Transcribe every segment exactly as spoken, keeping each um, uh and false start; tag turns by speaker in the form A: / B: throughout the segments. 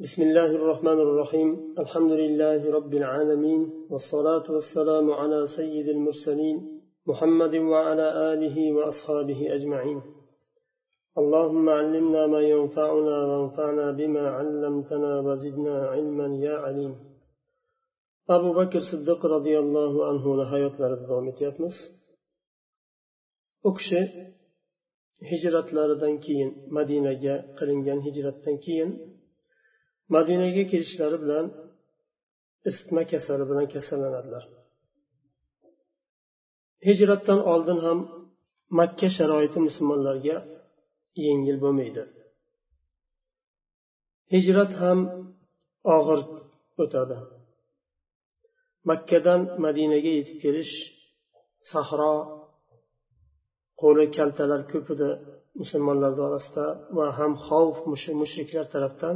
A: بسم الله الرحمن الرحيم الحمد لله رب العالمين والصلاة والسلام على سيد المرسلين محمد وعلى آله وأصحابه أجمعين اللهم علمنا ما ينفعنا وانفعنا بما علمتنا وزدنا علما يا عليم أبو بكر الصديق رضي الله عنه لحياة لردومت يتمس أكشي هجرة لردن كين مدينة قرنجان هجرة كين madinaga kelishlari bilan isitma kasali bilan kasallanadilar. Hijratdan oldin ham Makka sharoiti musulmonlarga yengil bo'lmaydi. Hijrat ham og'ir o'tadi. Makkadan Madinaga yetib kelish sahro, qo'li kaltalar ko'p edi musulmonlar orasida va ham xavf mushriklar tarafdan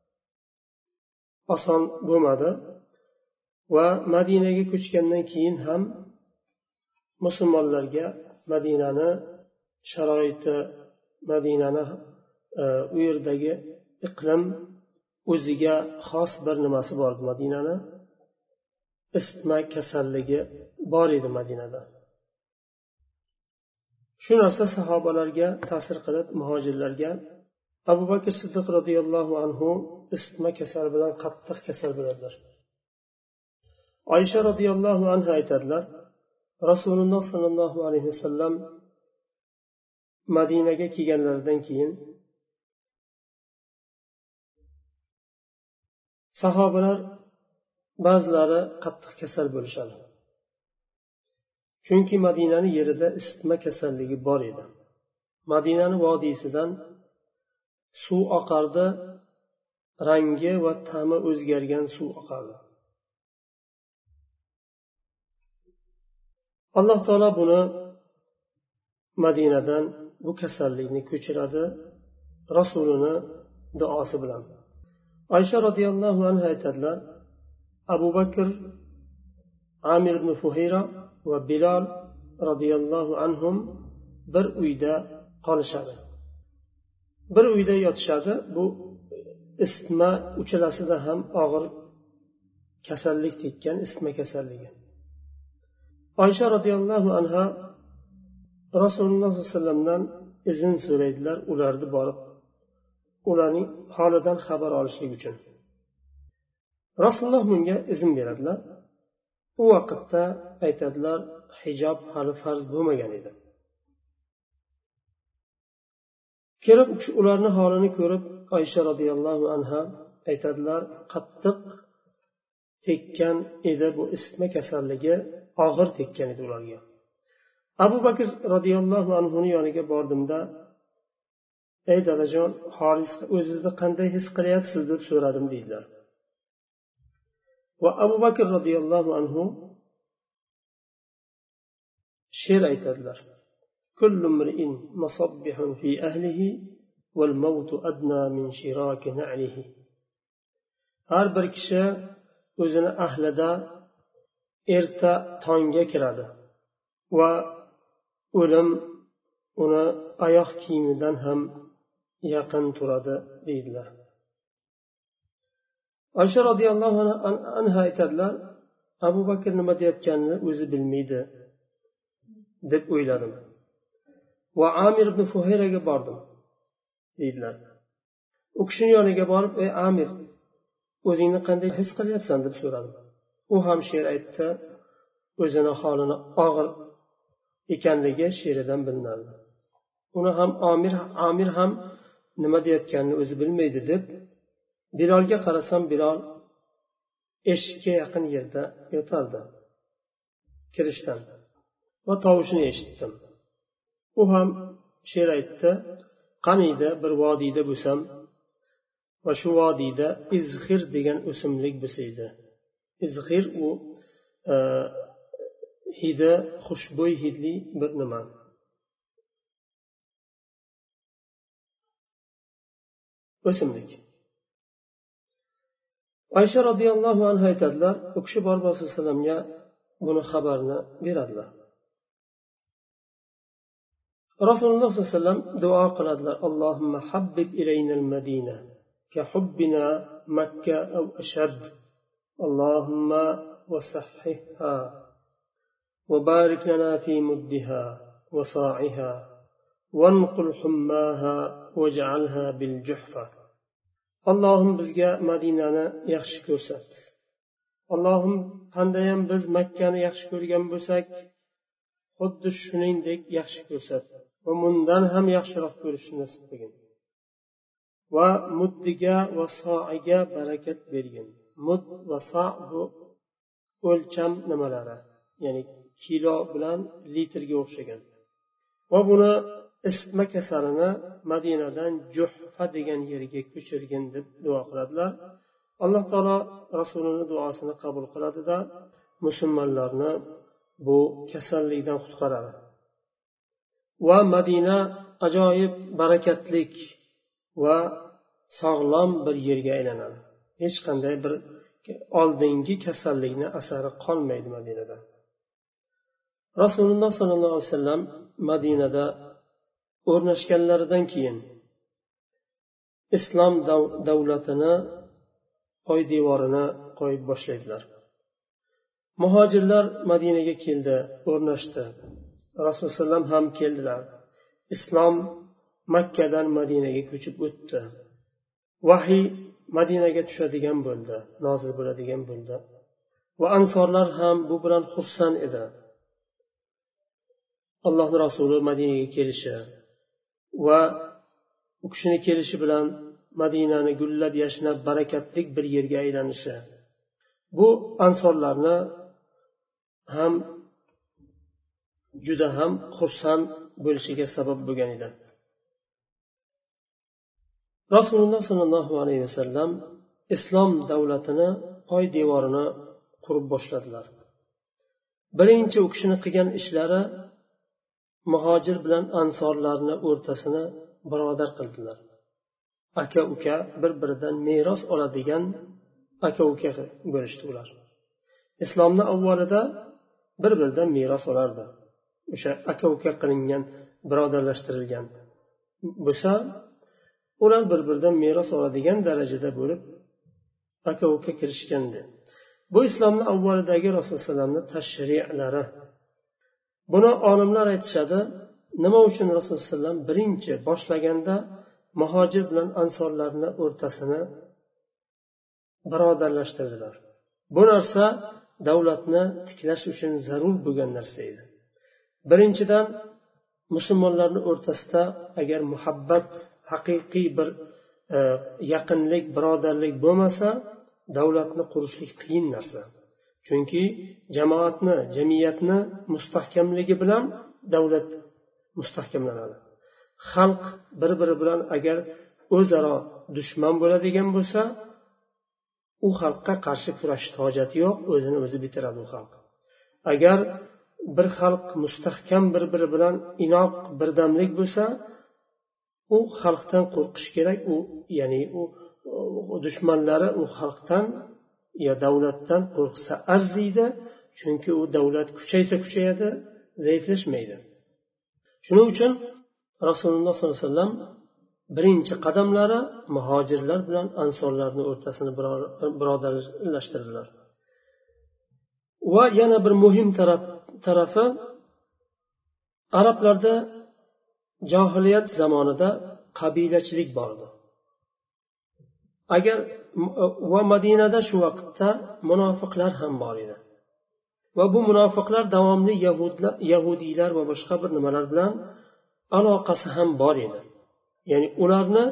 A: oson bo'lmadi va Madinaga ko'chgandan keyin ham musulmonlarga Madinani sharoiti, Madinani u yerdagi iqlim o'ziga xos bir nimasi bor edi. Madinani isitma kasalligi bor edi Madinada. Shu narsa sahobalarga ta'sir qilib muhojirlarga Abu Bakr Siddiq radhiyallohu anhu isitma kasali bilan qattiq kasal bo'ladilar. Oysha radhiyallohu anha aytadilar, Rasululloh sallallohu alayhi vasallam Madinaga kelganlaridan keyin sahobalar ba'zilari qattiq kasal bo'lishadi. Chunki Madinani yerida isitma kasalligi bor edi. Madinani vodiysidan suv oqardi, rangi va ta'mi o'zgargan suv oqardi. Alloh taolo buni Madinadan bu kasallikni ko'chiradi Rasulini duosi bilan. Oysha radhiyallohu anha aytadilar, Abu Bakr, Amir ibn Fuhayra va Bilal radhiyallohu anhum bir uyda qolishadi. Bir uyda yotishadi. Bu isitma uchalasida ham og'ir kasallik tekkan, isitma kasalligi. Oysha radhiyallohu anha Rasululloh sollallohu alayhi vasallamdan izn so'raydilar, ularni borib ularning holidan xabar olishlik uchun. Rasululloh bunga izn beradilar. U vaqtda aytadilar, hijob hali farz bo'lmagan edi. Kirib ularni holini ko'rib Oysha radhiyallohu anha aytadilar, qattiq tekkan edi bu isitma kasalligi, og'ir tekkan edi ularga. Abu Bakr radhiyallohu anhuning yoniga bordimda, ey dadajon, Haris, o'zingizni qanday his qilyapsiz deb so'radim deydilar. Va Abu Bakr radhiyallohu anhu she'r aytadilar. كل امرئ مصبح في أهله والموت أدنى من شراك نعله. Har bir kishi o'zini ahlida erta tongga kiradi va o'lim uni oyoq kiyimidan ham yaqin turadi deydilar. Oysha radhiyallohu anha aytadilar, Abu Bakr nima deyotganini o'zi bilmaydi deb o'yladim. Va Amir ibn Fuhayraga bordim deydilar. U kishining yoniga borib, ey Amir, o'zingni qanday his qilyapsan deb so'radim. U ham she'r aytdi, o'zini holini og'ir ekanligi she'ridan bilinadi. Uni ham Amir Amir ham nima deyotganini o'zi bilmaydi deb Bilolga qarasam, Bilol eshikka yaqin yerda yotardi kirishdan va tovushini eshitdim. U ham she'r aytdi, qaniydi bir vodiyda bo'lsam va shu vodiyda izhir degan o'simlik bo'lsa edi. Izhir u e, hidi, xushbo'y hidli bir nima. O'simlik. Oysha radhiyallohu anha aytadilar, u kishi borib Rasululloh sollallohu alayhi vasallamga buni xabarni beradilar. Rasululloh sollallohu alayhi vasallam duo qiladilar, Allohumma habbib ilaynal Madina كحبنا مكة أو أشد اللهم وصححها وبارك لنا في مدها وصاعها وانقل حماها واجعلها بالجحفة اللهم بزغا مدينة يخشي كرسات اللهم qandayam biz makkani yaxshi ko'rgan bo'lsak xuddi shuningdek yaxshi ko'rsat va bundan ham yaxshiroq ko'rishni nasib qilgin va muddiga va soiga barakat bergin. Mud va so bu o'lcham nimalari, ya'ni kilo bilan litrga o'xshagan. Va buni isitma kasalini Madinadan Juhfa degan yerga ko'chirgin deb duo qiladilar. Alloh taolo rasulining duosini qabul qiladida musulmonlarni bu kasallikdan qutqaradi. Va Madina ajoyib barakatlik va sog'lom bir yerga aylanadi. Hech qanday bir oldingi kasallikni asari qolmaydi Madinada. Rasululloh sollallohu alayhi vasallam Madinada o'rnashganlaridan keyin islom davlatini poydevorini qo'yib boshlaydilar. Muhojirlar Madinaga keldi, o'rnashdi. Rasululloh sallam ham keldilar. Islom Makkadan Madinaga ko'chib o'tdi. Vahiy Madinaga tushadigan bo'ldi, nozil bo'ladigan bo'ldi. Va ansorlar ham bu bilan xursand edi. Allohning rasuli Madinaga kelishi va u kishini kelishi bilan Madinani gullab yashnab barakatli bir yerga aylanishi bu ansorlarni ham juda ham xursand bo'lishiga sabab bo'lgan edi. Rasululloh sollallohu alayhi vasallam islom davlatini poydevorini qurib boshladilar. Birinchi u kishini qilgan ishlari muhojir bilan ansorlarni o'rtasini birodar qildilar. Aka uka bir-biridan meros oladigan aka uka bo'lishdi ular. Islomning avvalida bir-biridan meros olardi. O'sha aka uka qilingan, birodarlashtirilgan bo'lsa, ular bir-biridan meros oladigan darajada bo'lib aka uka kirishgandi. Bu islomning avvalidagi Rasululloh sallamning tashri'lari. Buni olimlar aytishadi, nima uchun Rasululloh sallam birinchi boshlaganda muhojir bilan ansorlarni o'rtasini birodarlashtirdilar. Bu narsa davlatni tiklash uchun zarur bo'lgan narsa edi. Birinchidan musulmonlarning o'rtasida agar muhabbat, haqiqiy bir e, yaqinlik, birodarlik bo'lmasa, davlatni qurishlik qiyin narsa. Chunki jamoatni, jamiyatni mustahkamligi bilan davlat mustahkamlanadi. Xalq bir-biri bilan agar o'zaro dushman bo'ladigan bo'lsa, u xalqqa qarshi kurashishga hojati yo'q, o'zini o'zi bitiradi u xalq. Agar bir xalq mustahkam bir-biri bilan inoq, birdamlik bo'lsa, u xalqdan qo'rqish kerak. U ya'ni u dushmanlari u xalqdan ya davlatdan qo'rqsa arziydi, chunki u davlat kuchaysa kuchayadi, zaiflashmaydi. Shuning uchun Rasululloh sollallohu alayhi vasallam birinchi qadamlari muhojirlar bilan ansorlarning o'rtasini birodarlashtirdilar. Va yana bir muhim taraf tarafi arablarda jahiliyat zamonida qabilachilik bor edi. Agar va Madinada shu vaqtda munofiqlar ham bor edi. Va bu munofiqlar davomli yahudlar, yahudiylar va boshqa bir nimalar bilan aloqasi ham bor edi. Ya'ni ularni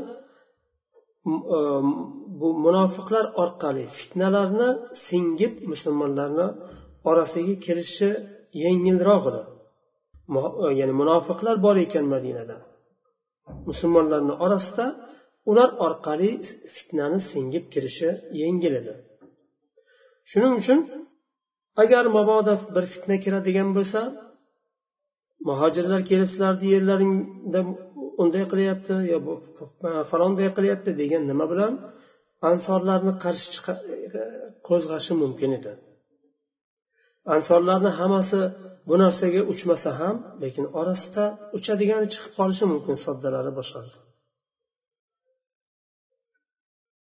A: bu munofiqlar orqali fitnalarni singib musulmonlarni orasiga kirishi yengilroq edi. Ya'ni munofiqlar bor ekan Madinada. Musulmonlarning orasida ular orqali fitnani singib kirishi yengil edi. Shuning uchun agar mabodo bir fitna kiradigan bo'lsa, muhojirlar kelib sizlarni yerlaringda unday qilyapti yo falonday qilyapti degan nima bilan ansorlarni qarshi qo'zg'ashi mumkin edi. Ansorlarning hammasi bu narsaga uchmasa ham, lekin orasida uchadigani chiqib qolishi mumkin, soddalari boshqasi.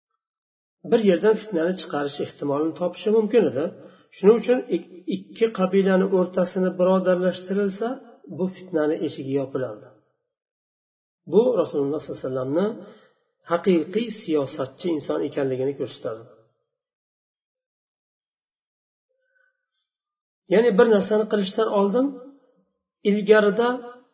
A: bir yerdan fitnani chiqarish ehtimolini topishi mumkin edi. Shuning uchun ikki qabilani o'rtasini birodarlashtirilsa, bu fitnani eshigi yopilardi. Bu Rasululloh sollallohu alayhi vasallamni haqiqiy siyosatchi inson ekanligini ko'rsatadi. Ya'ni bir narsani qilishdan oldin ilgarida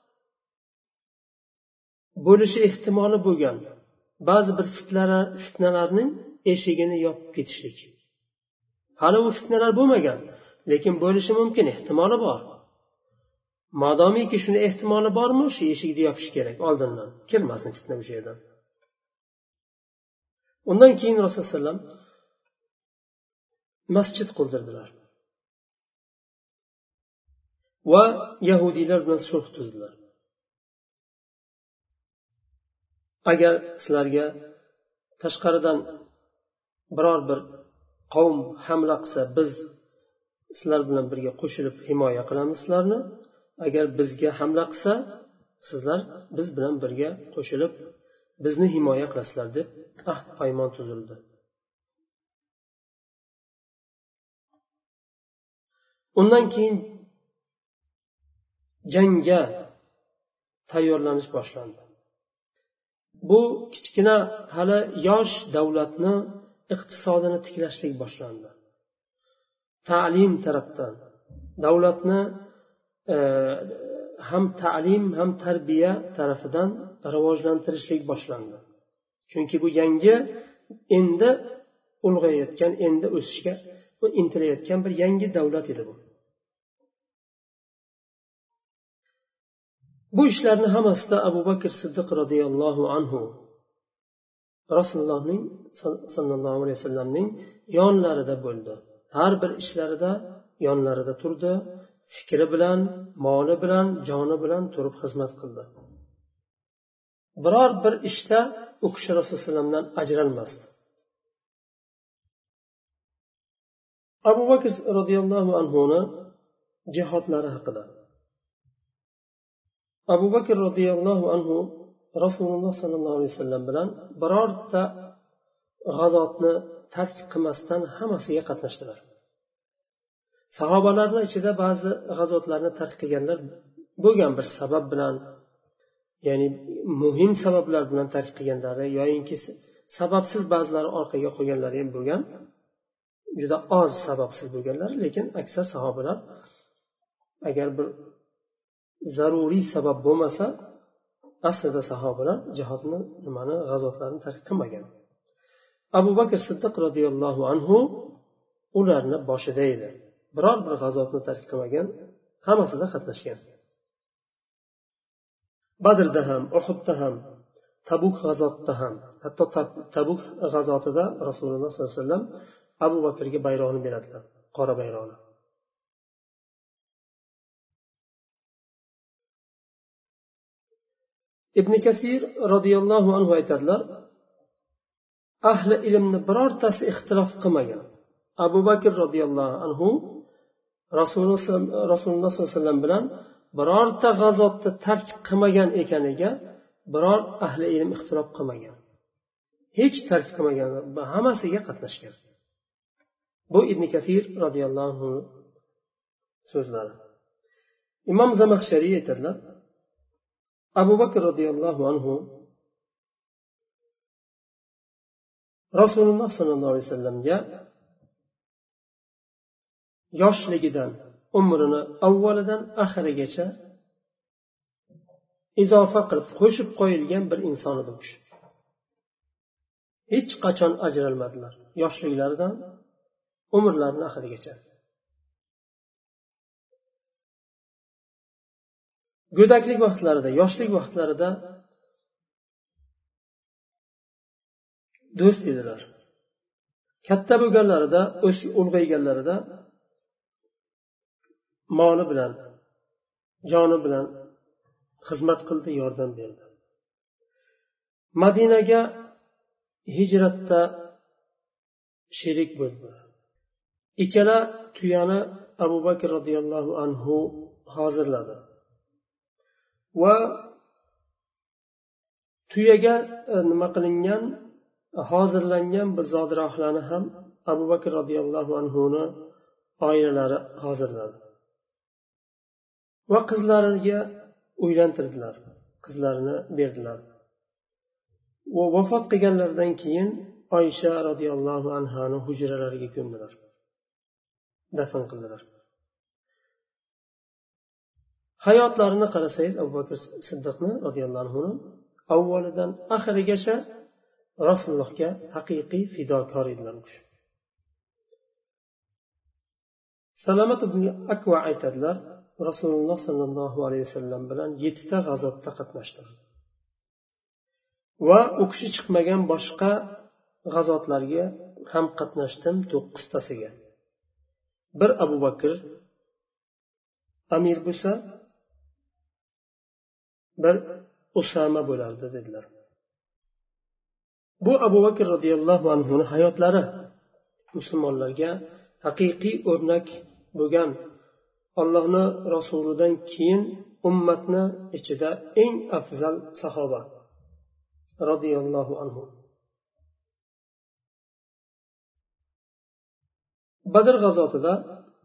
A: bo'lishi ehtimoli bo'lgan ba'zi bir fitnalarning eshigini yopib ketishlik. Hali u fitnalar bo'lmagan, lekin bo'lishi mumkin, ehtimoli bor. Modomiki shuni ehtimoli bormi, shu eshikni yopish kerak oldindan, kirmasin fitna o'sha yerdan. Undan keyin Rasululloh sollallohu alayhi vasallam masjid qurdirdilar va yahudiylar bilan sulh tuzdilar. Agar sizlarga tashqaridan biror bir qavm hamla qilsa, biz sizlar bilan birga qo'shilib himoya qilamiz sizlarni. Agar bizga hamla qilsa, sizlar biz bilan birga qo'shilib bizni himoya qilasizlar deb ahd paymon tuzildi. Undan keyin jangga tayyorlanish boshlandi. Bu kichkina hali yosh davlatni iqtisodini tiklashlik boshlandi. Ta'lim tarafdan davlatni e, ham ta'lim ham tarbiya tarafidan rivojlantirishlik boshlandi. Chunki bu yangi endi ulg'ayayotgan, endi o'sishga intilayotgan bir yangi davlat edi bu. Bu ishlarni hammasida Abu Bakr Siddiq radhiyallohu anhu Rasulullohning sallallohu alayhi vasallamning yonlarida bo'ldi. Har bir ishlarida yonlarida turdi, fikri bilan, moli bilan, joni bilan turib xizmat qildi. Biror bir ishda u kishi Rasululloh sollallohu alayhi vasallamdan ajralmasdi. Abu Bakr radhiyallohu anhuni jihodlari haqida. Abu Bakr radhiyallohu anhu Rasululloh sallallohu alayhi vasallam bilan birorta g'azotni tark qilmasdan hammasiga qatnashdilar. Sahobalarning ichida ba'zi g'azotlarni tark qilganlar bo'lgan bir sabab bilan, ya'ni muhim sabablar bilan tark qilganlari yoki sababsiz ba'zilari orqaga qo'yganlari ham bo'lgan. Juda oz sababsiz bo'lganlar, lekin aksar sahobalar agar bir zaruriy sabab bo'lmasa, aslida sahobalar jihodni, nimani, g'azotlarni tark qilmagan. Abu Bakr Siddiq radhiyallohu anhu ularni boshida edi. Biror bir g'azotni tark qilmagan, hammasida qatnashgan. Badrda ham, Uhudda ham, Tabuk g'azotida ham, hatto Tabuk g'azotida Rasululloh sollallohu alayhi vasallam Abu Bakrga bayroqni beradilar, qora bayroqni. Ibn Kasir radhiyallohu anhu aytadilar, ahli ilmni birortasi ixtilof qilmagan. Abu Bakr radhiyallohu anhu Rasululloh sollallohu alayhi vasallam bilan birorta g'azotni tark qilmagan ekaniga biror ahli ilm ixtilof qilmagan. Hech tark qilmagan, hammasiga qatnashgan. Bu Ibn Kasir radhiyallohu anhu so'zlari. Imom Zamaxshariy aytadilar, Abu Bakr radhiyallohu anhu Rasululloh sallallohu alayhi vasallamga yoshligidan umrini avvalidan oxirigacha izofa qilib qo'shib qo'yilgan bir inson edi u kishi. Hech qachon ajralmadilar, yoshliklaridan umrlarining oxirigacha. Go'daklik vaqtlarida, yoshlik vaqtlarida do'st edilar. Katta bo'lganlarida, o'sib ulg'ayganlarida moli bilan, joni bilan xizmat qildi, yordam berdi. Madinaga hijratda sherik bo'ldilar. Ikkala tuyani Abu Bakr radhiyallohu anhu hozirladi. Va tuyaga nima qilingan hozirlangan bir zodirohlarni ham Abu Bakr roziyallohu anhuni oilalari hozirladi va qizlariga uylantirdilar, qizlarini berdilar. Va vafot qilganlaridan keyin Oysha roziyallohu anhani hujralariga ko'mdilar, dafn qildilar. Hayotlarini qarasangiz, Abu Bakr Siddiqni roziyallohu anhu avvalidan oxirigacha Rasulullohga haqiqiy fidokor edilar. Salamat ibn Akva aytadilar, Rasululloh sallallohu alayhi vasallam bilan yettita g'azotda qatnashdim va u kishi chiqmagan boshqa g'azotlarga ham qatnashdim, to'qqiztasiga. Bir Abu Bakr amir bo'lsa, bir Usama bo'lardi dedilar. Bu Abu Bakr roziyallohu anhuning hayotlari musulmonlarga haqiqiy o'rnak bo'lgan, Allohning rasulidan keyin ummatni ichida eng afzal sahoba roziyallohu anhu. Badr g'azotida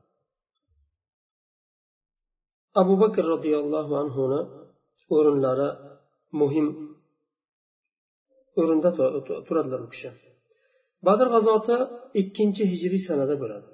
A: Abu Bakr roziyallohu anhuning o'rinlari muhim o'rinda turadilar u kishi. Badr g'azoti ikkinchi hijriy sanada bo'ladi.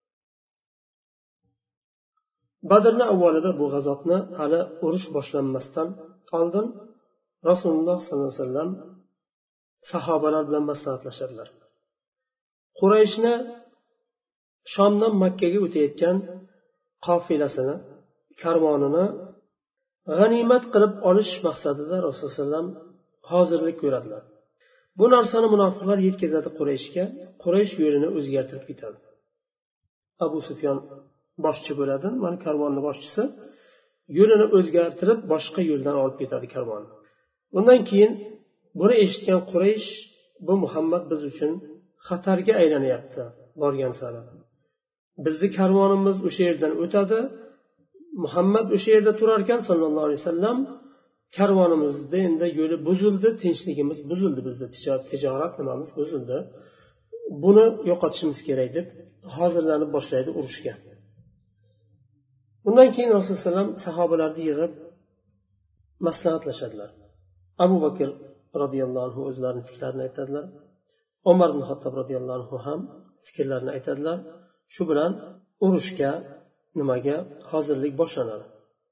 A: Badrning avvalida bu g'azotni hali urush boshlanmasdan oldin Rasululloh sollallohu alayhi vasallam sahobalar bilan maslahatlashadilar. Qurayshni Shomdan Makkaga o'tayotgan qofilasini, karvonini g'animat qilib olish maqsadida Rasululloh sollallohu alayhi vasallam hozirlik ko'radilar. Bu narsani munofiqlar yetkazadi Qurayshga. Quraysh yo'lini o'zgartirib ketadi. Abu Sufyon boshchi bo'ladi, mana karvonning boshchisi yo'lini o'zgartirib boshqa yo'ldan olib ketadi karvonni. Bundan keyin buni eshitgan Quraysh, bu Muhammad biz uchun xatarga aylanyapti borgan sari. Bizni karvonimiz o'sha yerdan o'tadi. Muhammad o'sha yerda turar ekan sallallohu alayhi vasallam, karvonimizda endi yo'li buzildi, tinchligimiz buzildi, bizda tijorat nimamiz buzildi. Buni yo'qotishimiz kerak deb hozirlanib boshlaydi urushga. Bundan keyin Rasululloh sollallohu alayhi vasallam sahobalarni yig'ib maslahatlashadilar. Abu Bakr roziyallohu anhu o'zlarining fikrlarini aytadilar. Umar ibn Xattob roziyallohu anhu ham fikrlarini aytadilar. Shu bilan urushga nimaga hozirlik boshlanadi.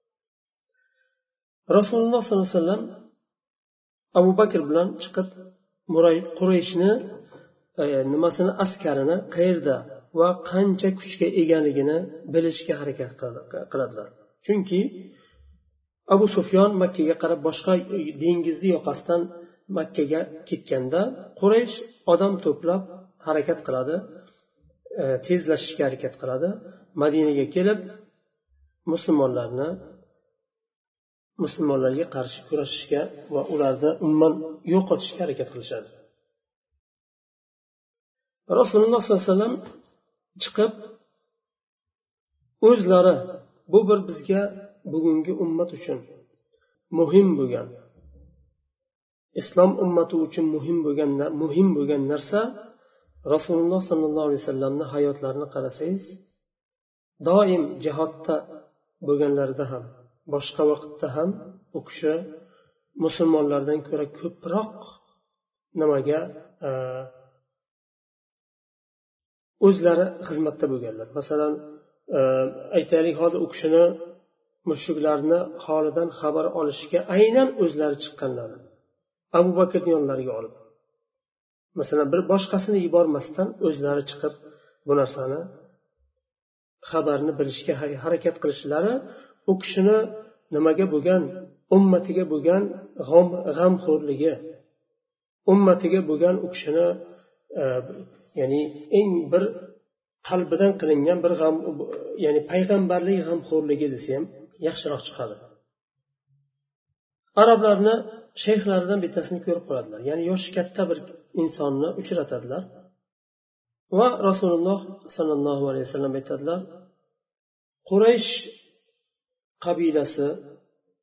A: Rasululloh sollallohu alayhi vasallam Abu Bakr bilan chiqib Qurayshni e, nimasini askarini qayerda va qancha kuchga egaligini bilishga harakat qiladilar. Chunki Abu Sufyon Makkaga qarab boshqa dengizni yoqasidan Makkaga ketganda Quraysh odam to'plab harakat qiladi, e, tezlashishga harakat qiladi. Madinaga kelib musulmonlarni musulmonlarga qarshi kurashishga va ularni umuman yo'qotishga harakat qilishadi. Rasululloh sollallohu alayhi vasallam chiqib o'zlari bu bir bizga bugungi ummat uchun muhim bo'lgan, islom ummati uchun muhim bo'lgan muhim bo'lgan narsa, Rasululloh sollallohu alayhi vasallamning hayotlarini qarasangiz, doim jihodda bo'lganlarida ham, boshqa vaqtda ham u kishi musulmonlardan ko'ra ko'proq nimaga o'zlari xizmatda bo'lganlar. Masalan, aytaylik, hozir u kishini mushriklarni holidan xabar olishga aynan o'zlari chiqqanlar. Abu Bakrni yonlariga olib, masalan, bir boshqasini yubormasdan o'zlari chiqib bu narsani xabarni bilishga harakat qilishlari u kishini nimaga bo'lgan, ummatiga bo'lgan g'amxo'rligi, ummatiga bo'lgan u kishini e, ya'ni eng bir qalbidan qilingan bir g'am, ya'ni payg'ambarlik g'amxo'rligi desa ham yaxshiroq chiqadi. Arablarni shayxlaridan bittasini ko'rib qoladilar, ya'ni yoshi katta bir insonni uchratadilar va Rasululloh sallallohu alayhi vasallam aytadilar, Quraysh qabilasi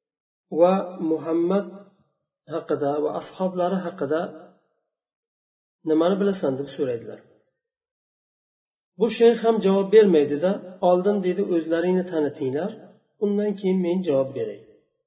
A: va Muhammad haqida va ashablari haqida nimani bilasan deb so'raydilar. Bu shayx ham javob bermaydida, oldin deydi o'zlaringni tanitinglar, undan keyin men javob beray.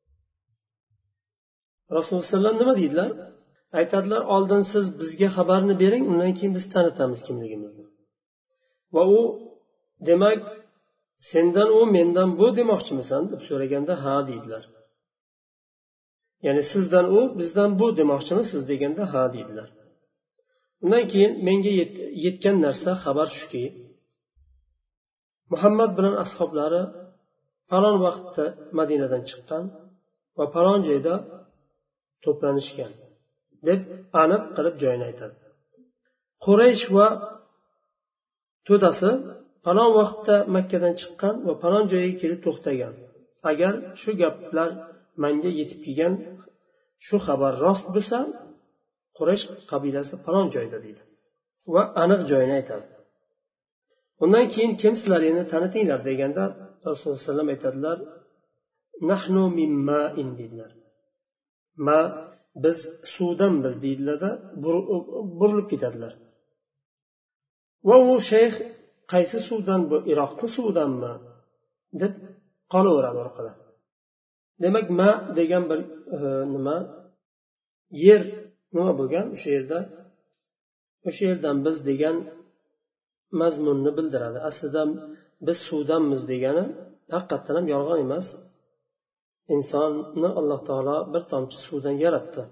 A: Rasululloh sollallohu alayhi vasallam nima deydilar? Aytadilar, oldin siz bizga xabarni bering, undan keyin biz tanitamiz kimligimizni. Va u demak, sendan u mendan bu demoqchimisan deb so'raganda ha deydilar. Ya'ni sizdan u bizdan bu demoqchimisiz deganda ha deydilar. Undan keyin menga yetgan narsa xabar shuki, Muhammad bilan ashablari falon vaqtda Madinadan chiqqan va falon joyda to'planishgan deb aniq qilib joyini aytadi. Quraysh va to'dasi falon vaqtda Makkadan chiqqan va falon joyga kelib to'xtagan. Agar shu gaplar menga yetib kelgan, shu xabar rost bo'lsa, Quraysh qabilasi falon joyda deydi va aniq joyini aytadi. Undan keyin kim sizlarini tanitinglar deganda Rasululloh sollallohu alayhi vasallam aytadilar, nahnu mimma'in dedilar. Ma biz suvdanmiz deydilarda burilib ketadilar. Va u shayx qaysi suvdan bu, Iroqning suvidanmi deb qolaveradi orqada. Demak, ma degan bir e, nima yer nima bo'lgan o'sha yerda, o'sha yerdan biz degan mazmunni bildiradi. Aslida biz suvdanmiz degani haqiqatan ham yolg'on emas. Insonni Alloh taolo bir tomchi suvdan yaratdi.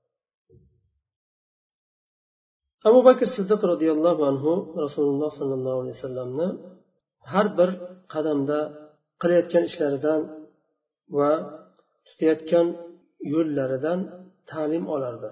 A: Abu Bakr Siddiq radhiyallohu anhu Rasululloh sollallohu alayhi vasallamni har bir qadamda qilayotgan ishlaridan va tutayotgan yo'llaridan ta'lim olardi.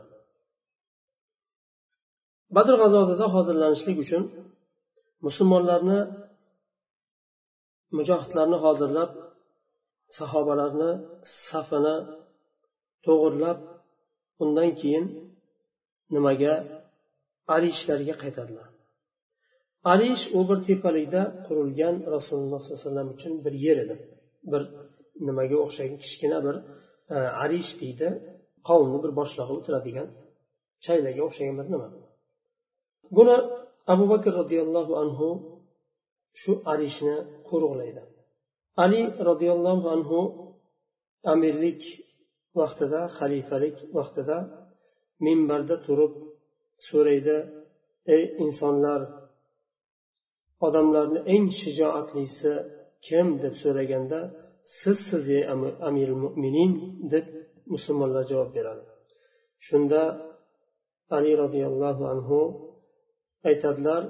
A: Badr g'azotida hozirlanishlik uchun musulmonlarni, mujohidlarni hozirlab, sahobalarni safini to'g'irlab, undan keyin nimaga Arishlarga qaytadilar. Arish u bir tepalikda qurilgan Rasululloh sollallohu alayhi vasallam uchun bir yer edi. Bir nimaga o'xshagan kichkina bir e, Arish deydi, qavmni bir boshlig'i o'tiradigan chaylaga o'xshagan bir nima. Buni Abu Bakr radhiyallohu anhu shu Arishni qo'riqlaydi. Ali radhiyallohu anhu amirlik vaqtida, xalifalik vaqtida minbarda turib so'raydi, ey insonlar, odamlarni eng shijoatlisi kim deb so'raganda, siz siz ey amirul mu'minin deb musulmonlar javob beradi. Shunda Ali radhiyallohu anhu aytadilar,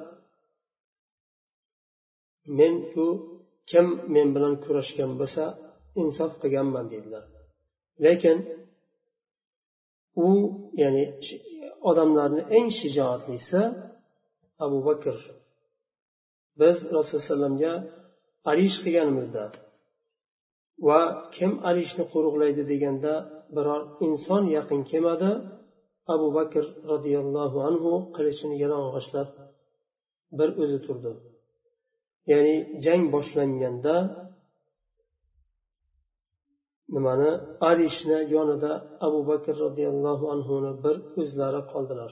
A: men ku kim men bilan kurashgan bo'lsa insof qilganman dedilar. Lekin u ya'ni odamlarni eng shijoatlisi Abu Bakr. Biz Rasululloh sollallohu alayhi vasallamga arish qilganimizda va kim arishni qo'riqlaydi deganda biror inson yaqin kelmadi. Abu Bakr radhiyallohu anhu qilichini yalang'ochlab bir o'zi turdi. Ya'ni jang boshlanganda nimani arishni yonida Abu Bakr radhiyallohu anhuni bir o'zlari qoldilar.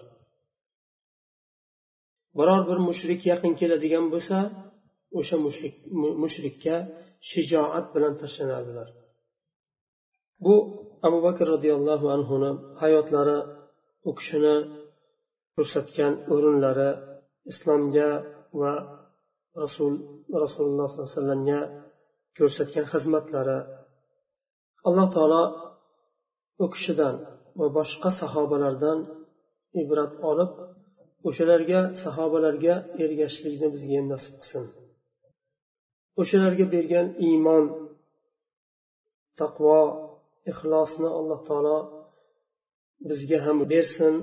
A: Biror bir mushrik yaqin keladigan bo'lsa, o'sha mushrik mushrikka shijoat bilan tashlanardilar. Bu Abu Bakr radhiyallohu anhuni hayotlari, u kishini ko'rsatgan o'rinlari, islomga va Rasul Rasululloh sollallohu alayhi vasallamga ko'rsatgan xizmatlari, Alloh taolo u kishidan va boshqa sahobalardan ibrat olib, o'shalarga, sahobalarga ergashishlikni bizga ham nasib qilsin. O'shalarga bergan iymon, taqvo, ixlosni Alloh taolo bizga ham bersin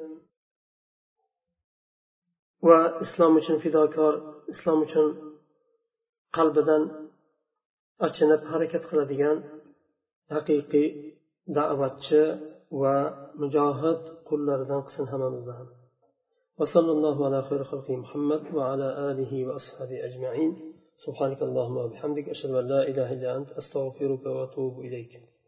A: va islom uchun fidokor, islom uchun qalbidan achinib harakat qiladigan haqiqiy da'vatchi va mujohid qullaridan qilsin hammamizni ham. Va sallallohu ala xayri xalqi Muhammad va ala alihi va ashabihi ajma'in. Subhanakallahumma va bihamdik ashhadu an la ilaha illa ant astaghfiruka va atubu ilayk.